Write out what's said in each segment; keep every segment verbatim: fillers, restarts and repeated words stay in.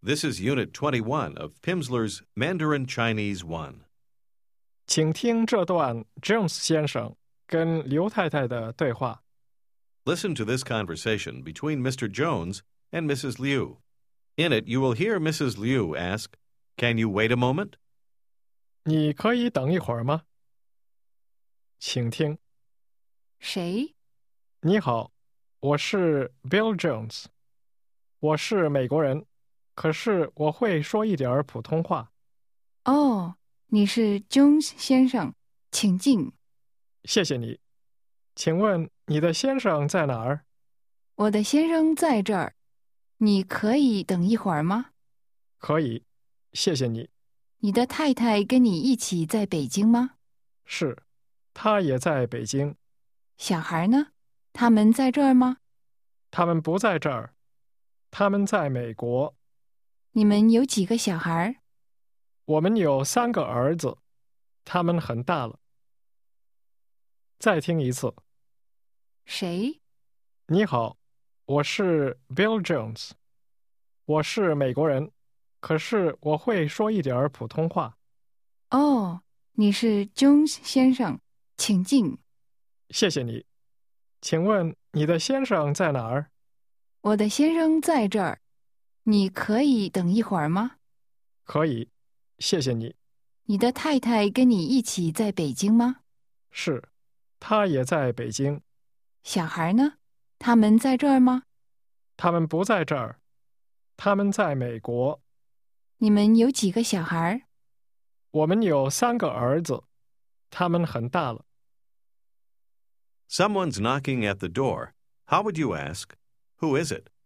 This is Unit twenty-one of Pimsleur's Mandarin Chinese one. 请听这段 Jones 先生跟刘太太的对话。 Listen to this conversation between Mister Jones and Missus Liu. In it, you will hear Missus Liu ask, "Can you wait a moment?" 你可以等一会儿吗？请听。 谁？ 你好，我是 Bill Jones。我是美国人，可是我会说一点儿普通话。 哦，你是 Jones 先生，请进。 谢谢你。请问你的先生在哪儿？ 我的先生在这儿，你可以等一会儿吗？ 可以，谢谢你。 你的太太跟你一起在北京吗？ 是，他也在北京。 小孩呢？他们在这儿吗？ 他们不在这儿，他们在美国。 你们有几个小孩？ 我们有三个儿子，他们很大了。再听一次。 谁？ 你好，我是 Bill Jones。我是美国人，可是我会说一点儿普通话。 哦，你是 Jones 先生，请进。 谢谢你。请问你的先生在哪儿？ 我的先生在这儿，你可以等一会儿吗？ 可以，谢谢你。 你的太太跟你一起在北京吗？ 是，他也在北京。 小孩呢？他们在这儿吗？ 他们不在这儿，他们在美国。 你们有几个小孩？ 我们有三个儿子，他们很大了。 Someone's knocking at the door. How would you ask, "Who is it?"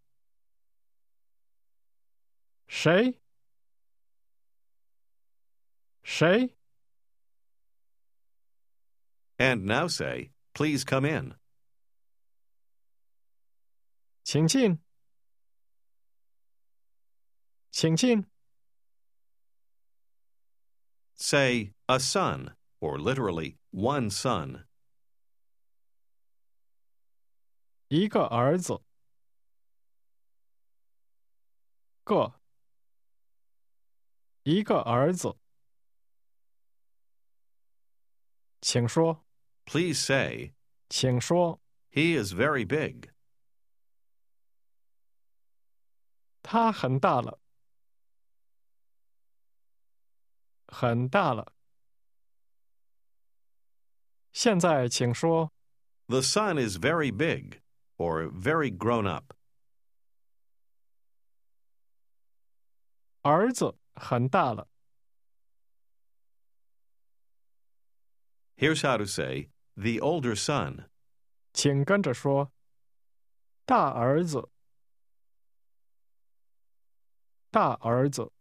谁？谁？ And now say, "Please come in." 请进。请进。 Say, "A son," or literally, "one son." 一个儿子。个。一个儿子。请说。 Please say, 请说。 "He is very big." 他很大了。很大了。现在请说。 The son is very big, or very grown up. 儿子很大了。 Here's how to say, "The older son." 请跟着说。大儿子。大儿子。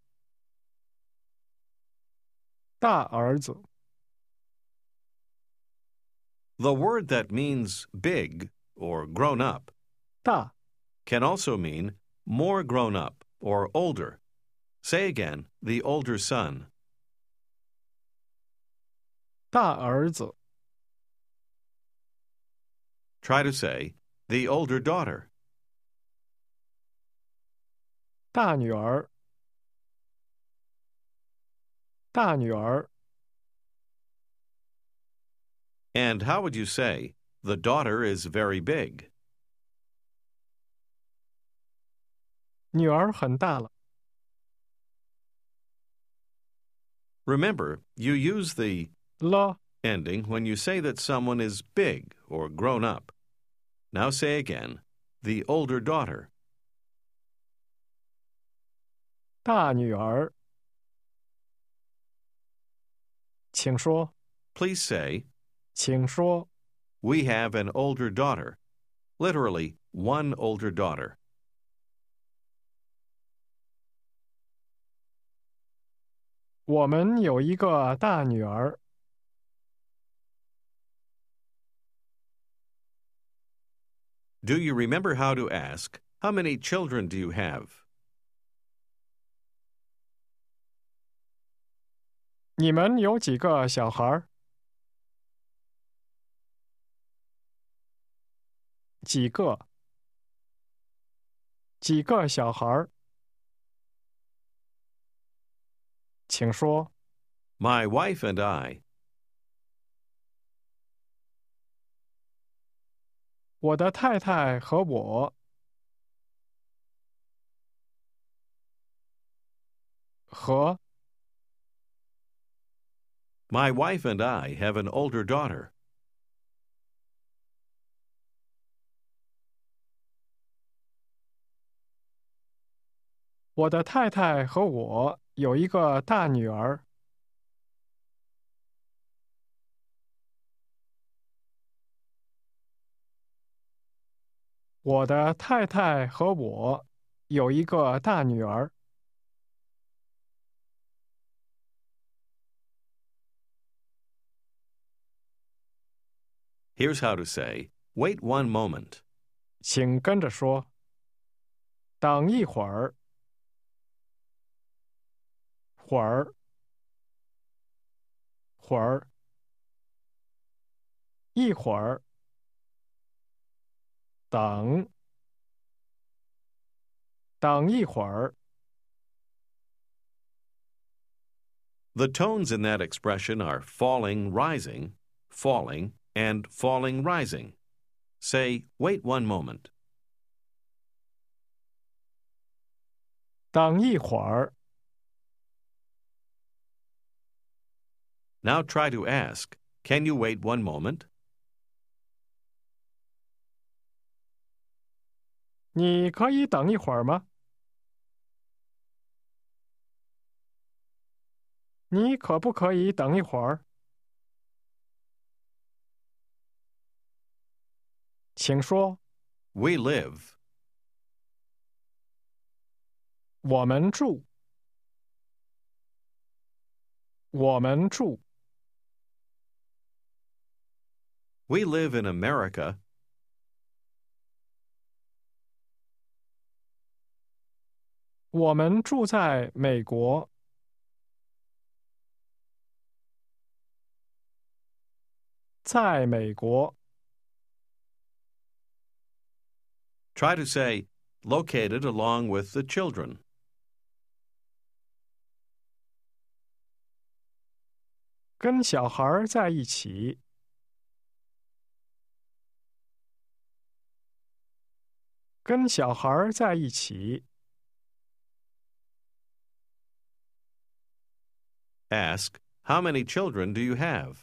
大儿子。 The word that means big, or grown up, 大。 can also mean more grown up or older. Say again, "The older son." 大儿子。 Try to say, "The older daughter." 大女儿。大女儿。 And how would you say, "The daughter is very big"? 女儿很大了。 Remember, you use the 了。 ending when you say that someone is big or grown up. Now say again, "The older daughter." 大女儿。请说。 Please say, 请说。 "We have an older daughter." Literally, one older daughter. 我们有一个大女儿。 Do you remember how to ask, "How many children do you have?" 你们有几个小孩？几个？几个小孩？ 请说。 My wife and I. 我的太太和我和 My wife and I have an older daughter. 我的太太和我有一个大女儿。我的太太和我有一个大女儿。 Here's how to say, wait one moment. 请跟着说。等一会儿。会儿。会儿。一会儿。等。等一会儿。 The tones in that expression are falling, rising, falling, and falling, rising. Say, wait one moment. 等一会儿。 Now try to ask, can you wait one moment? 你可以等一会儿吗？你可不可以等一会儿？请说。 We live. 我们住。我们住。 We live in America. 我们住在美国。在美国。 Try to say, located along with the children. 跟小孩在一起。跟小孩在一起。 Ask, how many children do you have?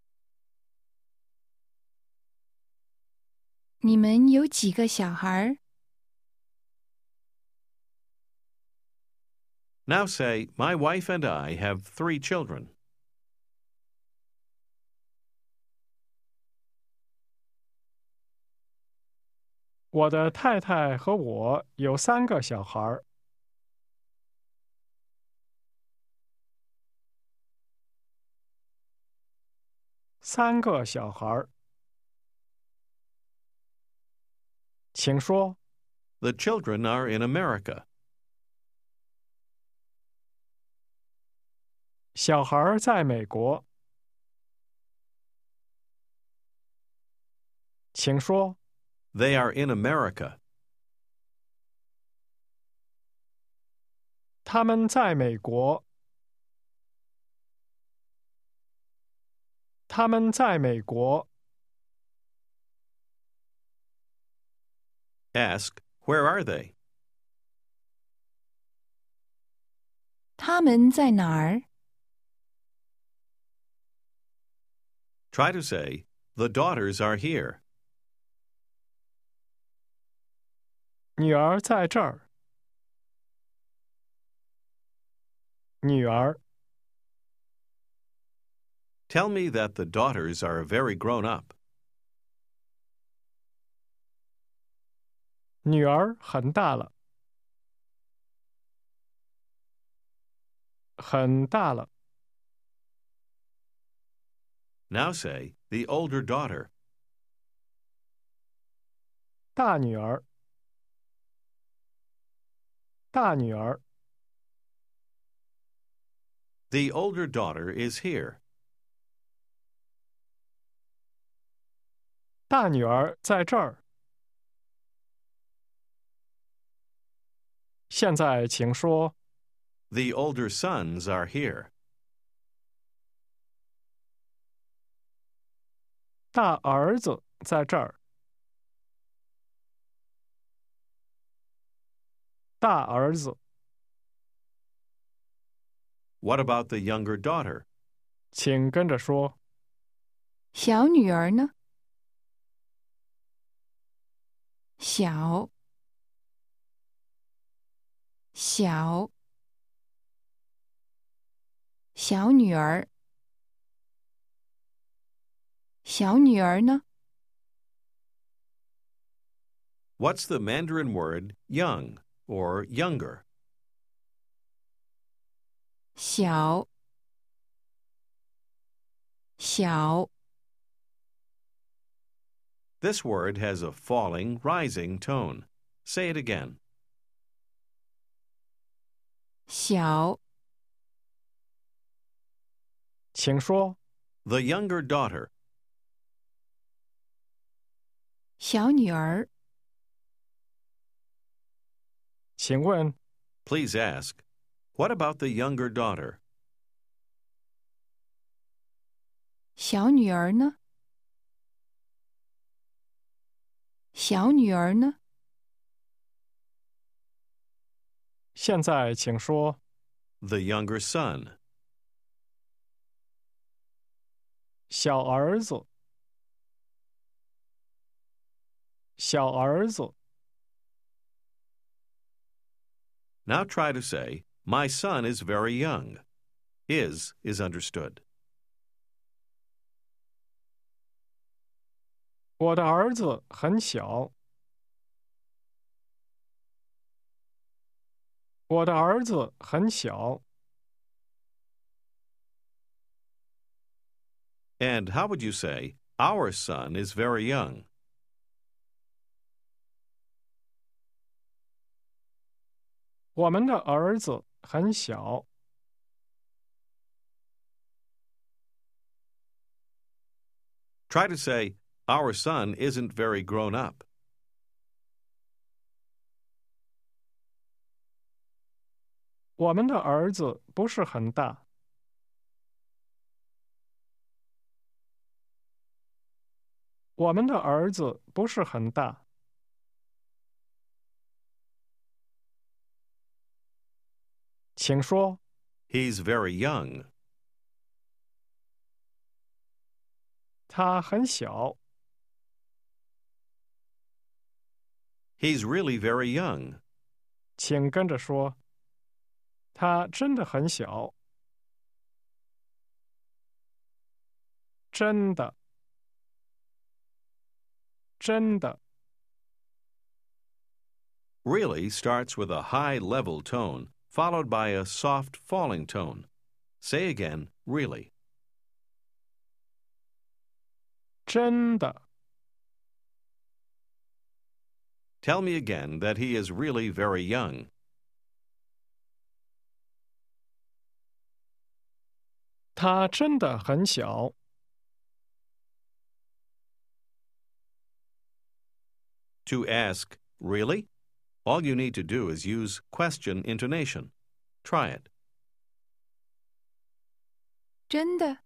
你们有几个小孩？ Now say, my wife and I have three children. 我的太太和我有三个小孩。三个小孩。请说。 The children are in America. 小孩在美国。请说。 They are in America. 他们在美国。他们在美国。 Ask, where are they? 他们在哪儿？ Try to say, the daughters are here. 女儿在这儿。女儿。 Tell me that the daughters are very grown up. 女儿很大了。很大了。 Now say, the older daughter. 大女儿。大女儿。 The older daughter is here. 大女儿在这儿。现在请说。 The older sons are here. 大儿子在这儿。大儿子， What about the younger daughter? 请跟着说。 小女儿呢？小，小，小女儿，小女儿呢？ What's the Mandarin word young or younger? 小，小， This word has a falling, rising tone. Say it again. 小， 请说。 The younger daughter. 小女儿， 请问， Please ask, what about the younger daughter? 小女儿呢？小女儿呢？ 现在请说。 The younger son. 小儿子，小儿子， Now try to say, my son is very young. Is is understood. 我的儿子很小。我的儿子很小。 And how would you say, our son is very young? 我们的儿子很小。 Try to say, our son isn't very grown up. 我们的儿子不是很大。我们的儿子不是很大。请说。 He's very young. 他很小。 He's really very young. 请跟着说。他真的很小。真的。真的。 Really starts with a high level tone, followed by a soft falling tone. Say again, really. 真的。 Tell me again that he is really very young. 他真的很小。 To ask, really? All you need to do is use question intonation. Try it. 真的，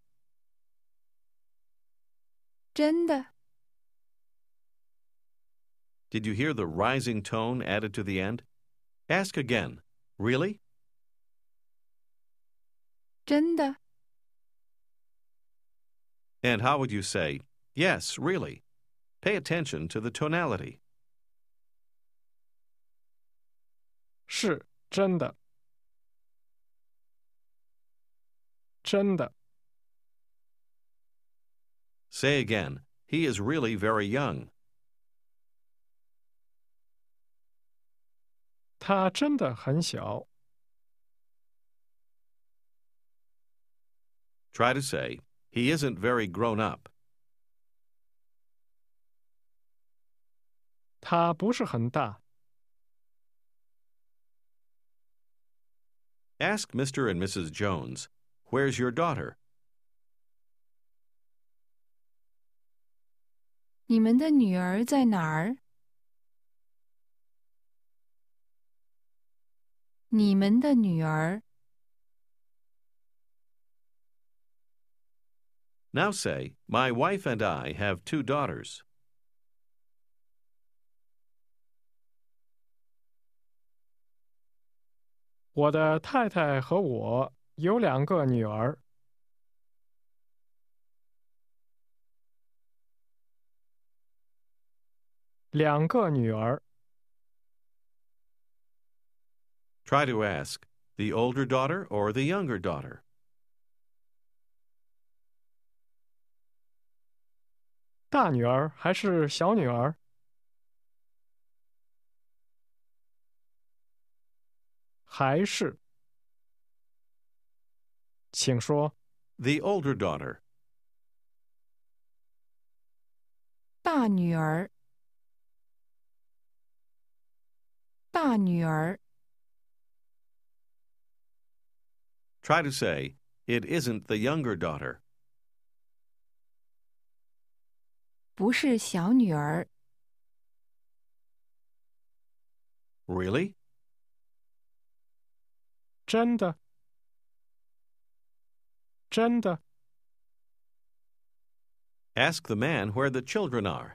真的， Did you hear the rising tone added to the end? Ask again, really? 真的， And how would you say, yes, really? Pay attention to the tonality. 是真的。真的。 Say again, he is really very young. 他真的很小。 Try to say, he isn't very grown up. 他不是很大。 Ask Mister and Missus Jones, where's your daughter? 你们的女儿在哪儿？你们的女儿 Now say, My wife and I have two daughters. 我的太太和我有两个女儿。两个女儿。 Try to ask, the older daughter or the younger daughter? 大女儿还是小女儿？还是？请说。 The older daughter. 大女儿，大女儿， Try to say, It isn't the younger daughter. 不是小女儿。 Really? 真的？真的？ Ask the man where the children are.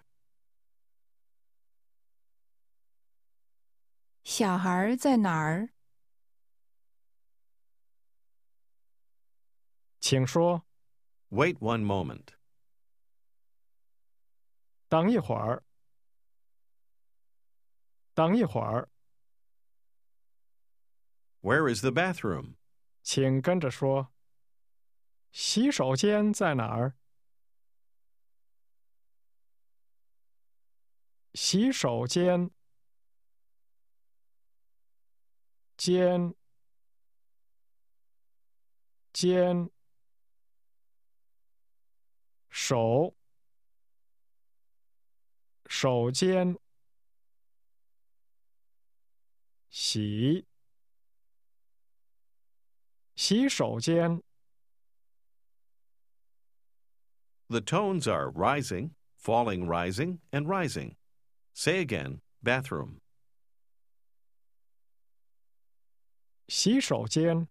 小孩在哪儿？ 请说。 Wait one moment. 等一会儿。等一会儿。 Where is the bathroom? 请跟着说。洗手间在哪儿？洗手间。间。间。手。手间。洗。洗手间。 The tones are rising, falling, rising, and rising. Say again, bathroom. 洗手间。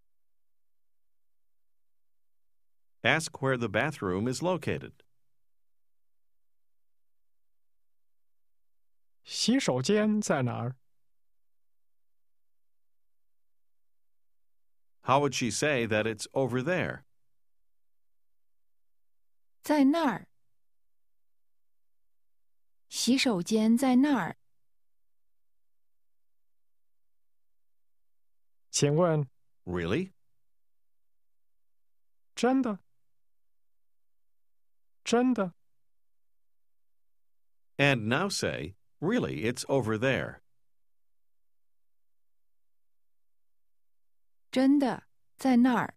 Ask where the bathroom is located. 洗手间在哪儿？ How would she say that it's over there? 在那儿。洗手间在那儿。 请问， Really? 真的？真的？ And now say, Really, it's over there. 真的，在那儿。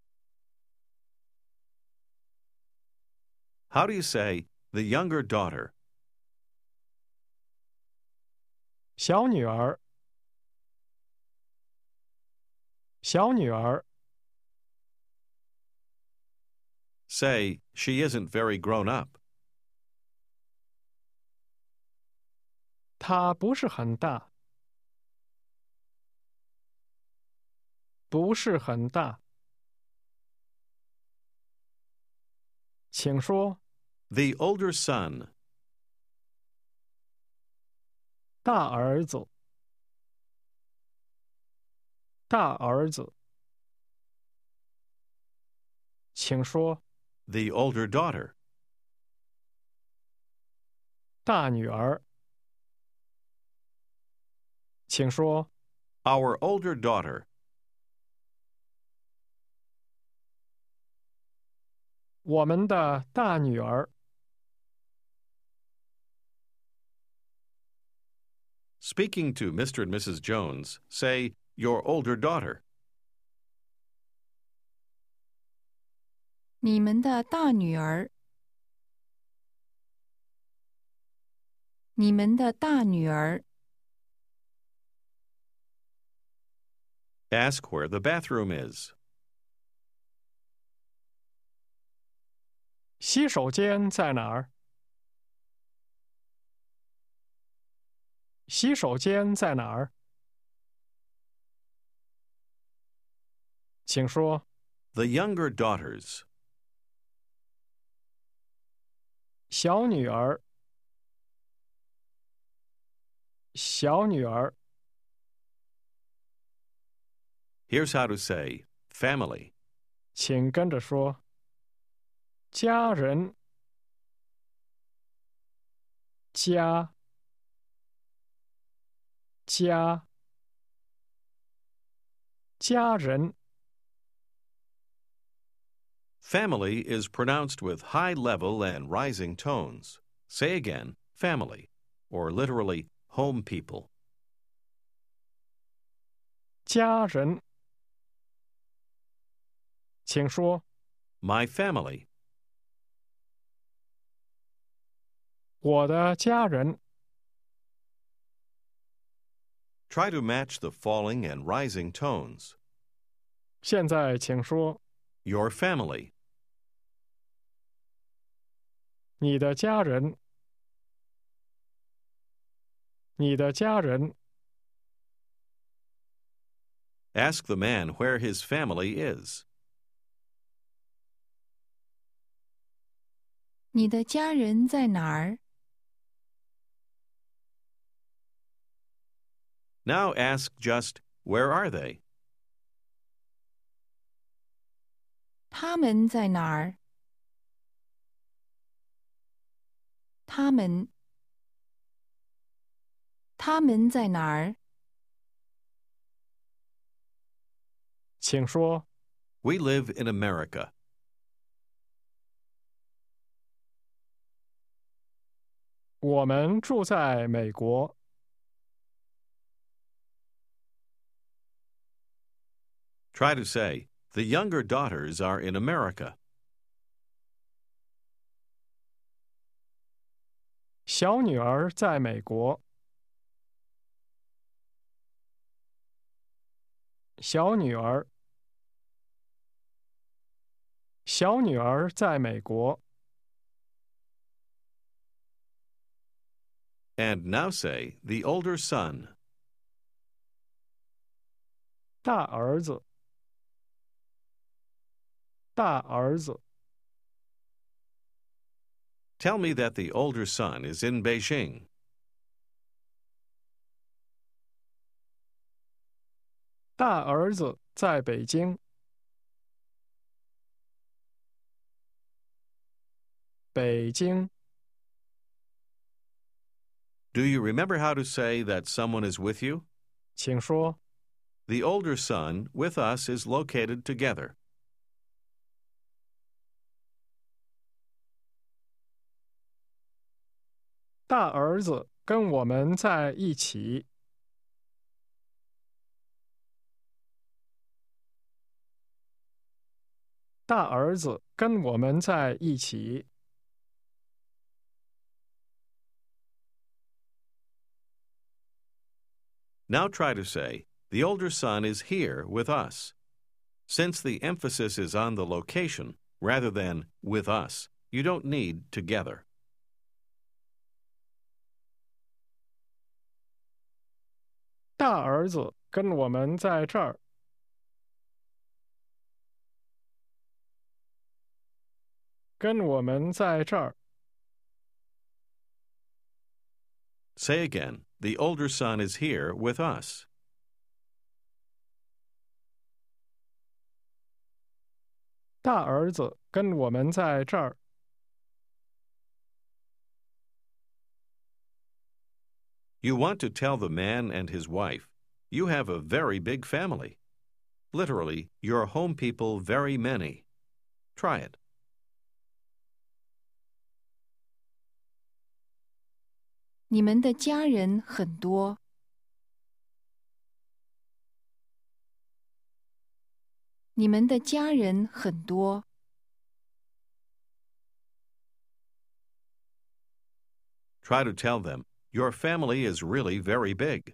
How do you say, the younger daughter? 小女儿。小女儿。 Say, she isn't very grown up. 她不是很大。不是很大。请说。 The older son. 大儿子。大儿子。请说。 The older daughter. 大女儿。请说。 Our older daughter. 我们的大女儿。 Speaking to Mister and Missus Jones, say, your older daughter. 你们的大女儿。你们的大女儿。 Ask where the bathroom is. 洗手间在哪儿？洗手间在哪儿？请说。 The younger daughters. 小女儿，小女儿， Here's how to say family. 请跟着说：家人，家，家，家人。 Family is pronounced with high level and rising tones. Say again, family, or literally, home people. 家人，请说 My family. 我的家人。 Try to match the falling and rising tones. 现在请说 Your family. 你的家人，你的家人。 Ask the man where his family is. 你的家人在哪儿？ Now ask just, where are they? 他们在哪儿？他们，他们在哪儿？ 请说 We live in America. 我们住在美国。 Try to say, the younger daughters are in America. 小女儿在美国。小女儿，小女儿在美国。 And now say, the older son. 大儿子，大儿子。 Tell me that the older son is in Beijing. 大儿子在北京。北京。 Do you remember how to say that someone is with you? 请说 The older son with us is located together. 大儿子跟我们在一起。大儿子跟我们在一起。 Now try to say, the older son is here with us. Since the emphasis is on the location rather than with us, you don't need together. 大儿子跟我们在这儿。跟我们在这儿。 Say again, the older son is here with us. 大儿子跟我们在这儿。 You want to tell the man and his wife, you have a very big family. Literally, your home people very many. Try it. 你们的家人很多。你们的家人很多。 Try to tell them, your family is really very big.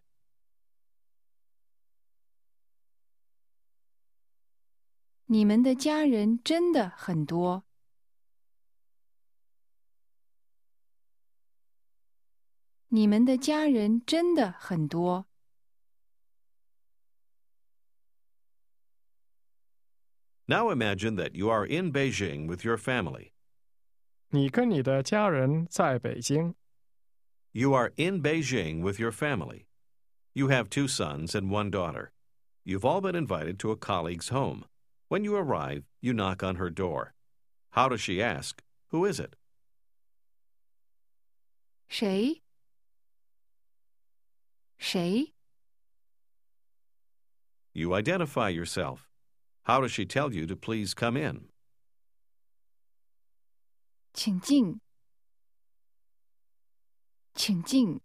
你们的家人真的很多。你们的家人真的很多。 Now imagine that you are in Beijing with your family. 你跟你的家人在北京。 You are in Beijing with your family. You have two sons and one daughter. You've all been invited to a colleague's home. When you arrive, you knock on her door. How does she ask? Who is it? 谁？谁？ You identify yourself. How does she tell you to please come in? 请进，请进。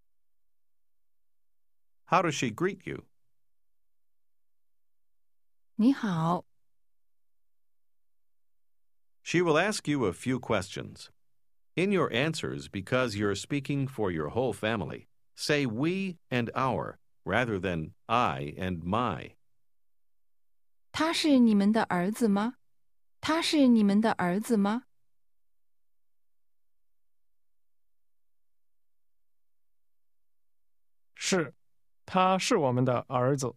How does she greet you? 你好， She will ask you a few questions. In your answers, because you're speaking for your whole family, say we and our rather than I and my. 他是你们的儿子吗？他是你们的儿子吗？ 是，他是我们的儿子。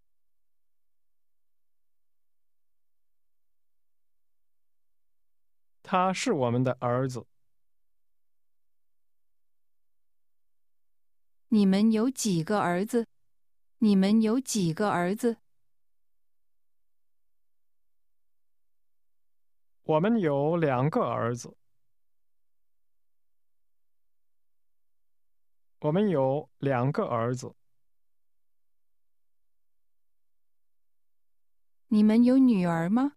他是我们的儿子。 你们有几个儿子？你们有几个儿子？ 我们有两个儿子。我们有两个儿子。 你们有女儿吗？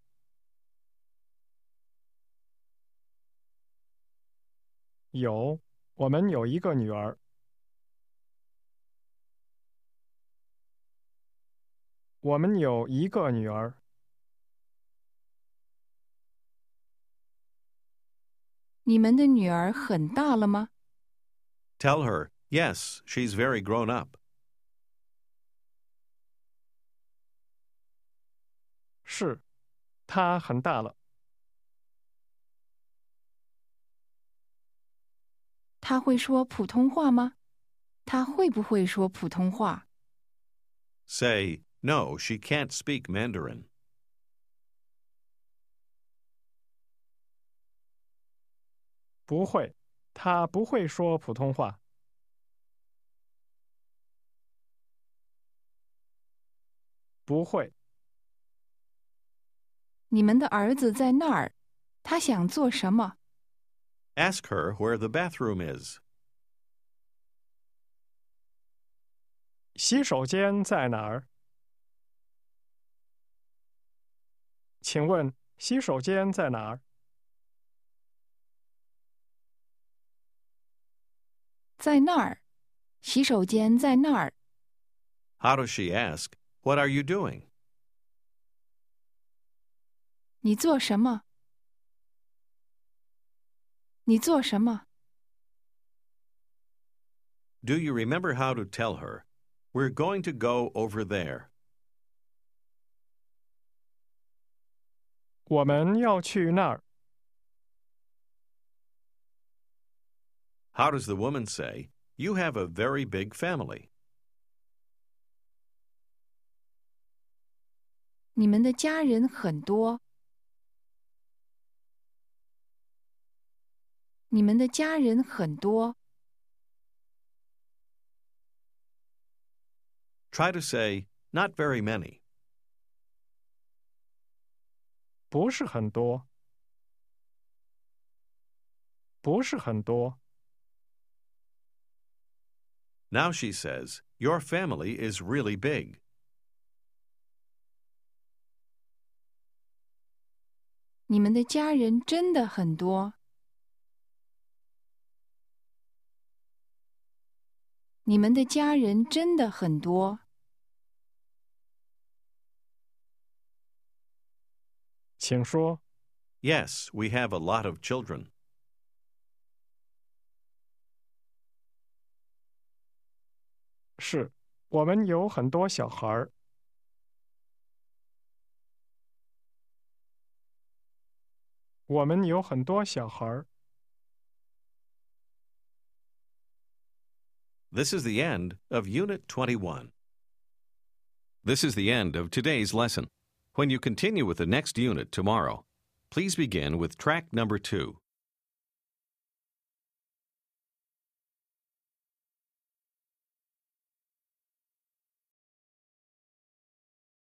有，我们有一个女儿。我们有一个女儿。 你们的女儿很大了吗？ Tell her, yes, she's very grown up. 是，她很大了。 她会说普通话吗？她会不会说普通话？ Say, no, she can't speak Mandarin. 不会，她不会说普通话。不会。 你们的儿子在那儿，他想做什么？ Ask her where the bathroom is. 洗手间在哪儿？请问洗手间在哪儿？ 在那儿，洗手间在那儿。 How does she ask, what are you doing? 你做什么？你做什么？ Do you remember how to tell her, we're going to go over there? 我们要去那儿。 How does the woman say, you have a very big family? 你们的家人很多。你们的家人很多。 Try to say, not very many. 不是很多。不是很多。 Now she says, your family is really big. 你们的家人真的很多。你们的家人真的很多。 请说。 Yes, we have a lot of children. 是，我们有很多小孩儿。我们有很多小孩儿。 This is the end of Unit twenty-one. This is the end of today's lesson. When you continue with the next unit tomorrow, please begin with track number two.